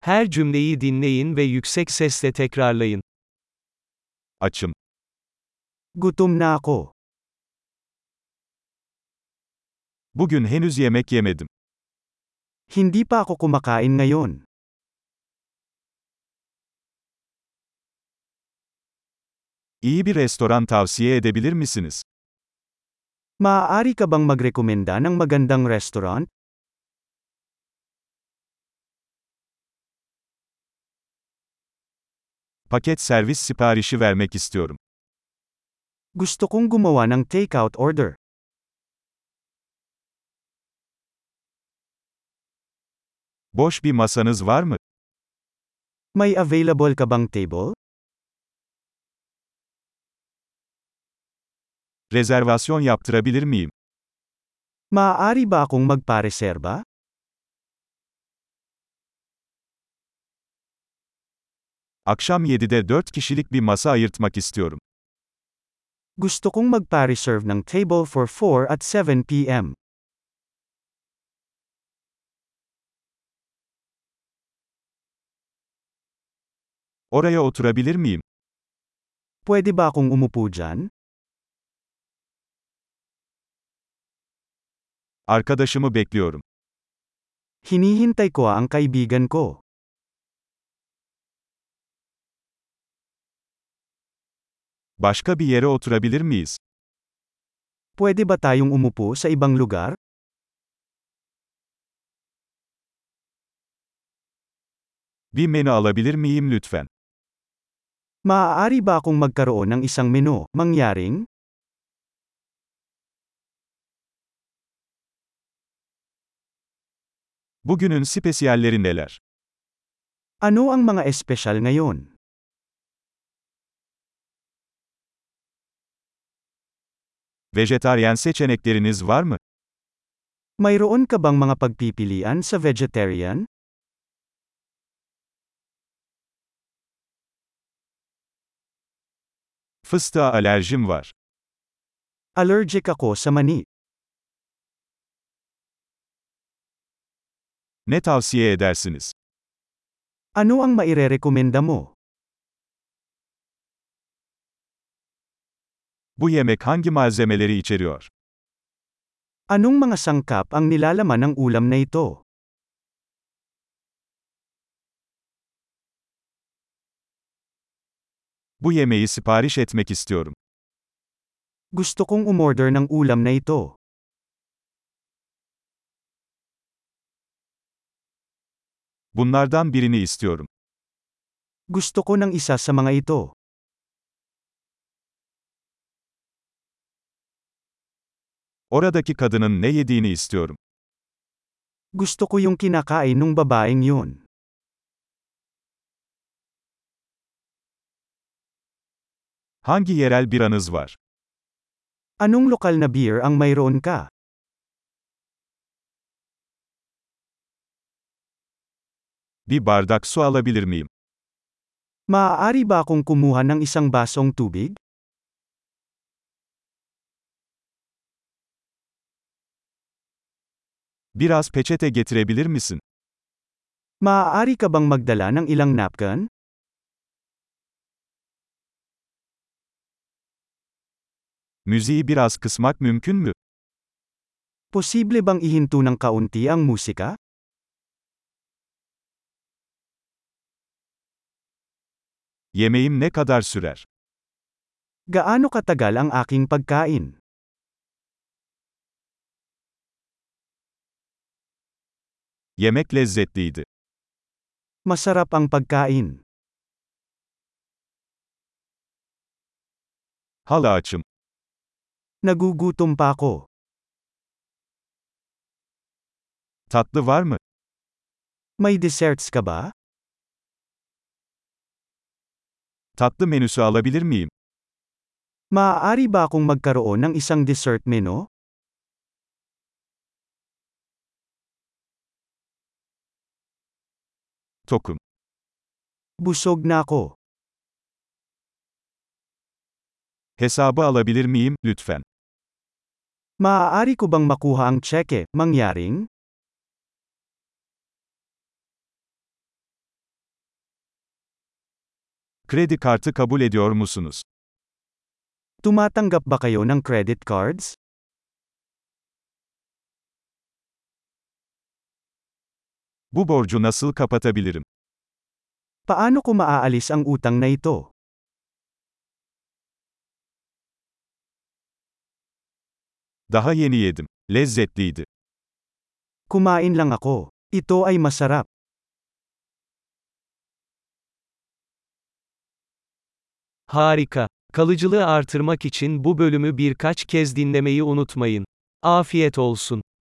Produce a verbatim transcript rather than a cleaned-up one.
Her cümleyi dinleyin ve yüksek sesle tekrarlayın. Açım. Gutom na ako. Bugün henüz yemek yemedim. Hindi pa ako kumakain ngayon. İyi bir restoran tavsiye edebilir misiniz? Maaari ka bang magrekomenda ng magandang restaurant? Paket servis siparişi vermek istiyorum. Gusto kong gumawa ng takeout order. Boş bir masanız var mı? May available ka bang table? Rezervasyon yaptırabilir miyim? Maaari ba akong magpareserba? Akşam yedide dört kişilik bir masa ayırtmak istiyorum. Gusto kong magpa-reserve ng table for four at seven p m Oraya oturabilir miyim? Pwede ba akong umupo dyan? Arkadaşımı bekliyorum. Hinihintay ko ang kaibigan ko. Başka bir yere oturabilir miyiz? Pwede ba tayong umupo sa ibang lugar? Bir menü alabilir miyim lütfen? Maaari ba akong magkaroon ng isang menu, mangyaring? Bugünün spesiyalleri neler? Ano ang mga espesyal ngayon? Vejetaryen seçenekleriniz var mı? Mayroon ka bang mga pagpipilian sa vegetarian? Fıstığa alerjim var. Allergic ako sa mani. Ne tavsiye edersiniz? Ano ang mairerekomenda mo? Bu yemek hangi malzemeleri içeriyor? Anong mga sangkap ang nilalaman ng ulam na ito? Bu yemeği sipariş etmek istiyorum. Gusto kong umorder ng ulam na ito. Bunlardan birini istiyorum. Gusto ko ng isa sa mga ito. Oradaki kadının ne yediğini istiyorum. Gusto ko yung kinakain nung babaeng yun. Hangi yerel biranız var? Anong lokal na beer ang mayroon ka? Bir bardak su alabilir miyim? Maaari ba akong kumuha ng isang basong tubig? Biraz peçete getirebilir misin? Maaari ka bang magdala ng ilang napkin? Müziği biraz kısmak mümkün mü? Posible bang ihinto ng kaunti ang musika? Yemeğim ne kadar sürer? Gaano katagal ang aking pagkain? Yemek lezzetliydi. Masarap ang pagkain. Hala açım. Nagugutom pa ako. Tatlı var mı? May desserts ka ba? Tatlı menüsü alabilir miyim? Maaari ba akong magkaroon ng isang dessert menu? Tokum. Busog na ako. Hesabı alabilir miyim, lütfen? Maaari ko bang makuha ang tseke, mangyaring? Kredi kartı kabul ediyor musunuz? Tumatanggap ba kayo ng credit cards? Bu borcu nasıl kapatabilirim? Paano ko maaalis ang utang na ito? Daha yeni yedim. Lezzetliydi. Kumain lang ako. Ito ay masarap. Harika. Kalıcılığı artırmak için bu bölümü birkaç kez dinlemeyi unutmayın. Afiyet olsun.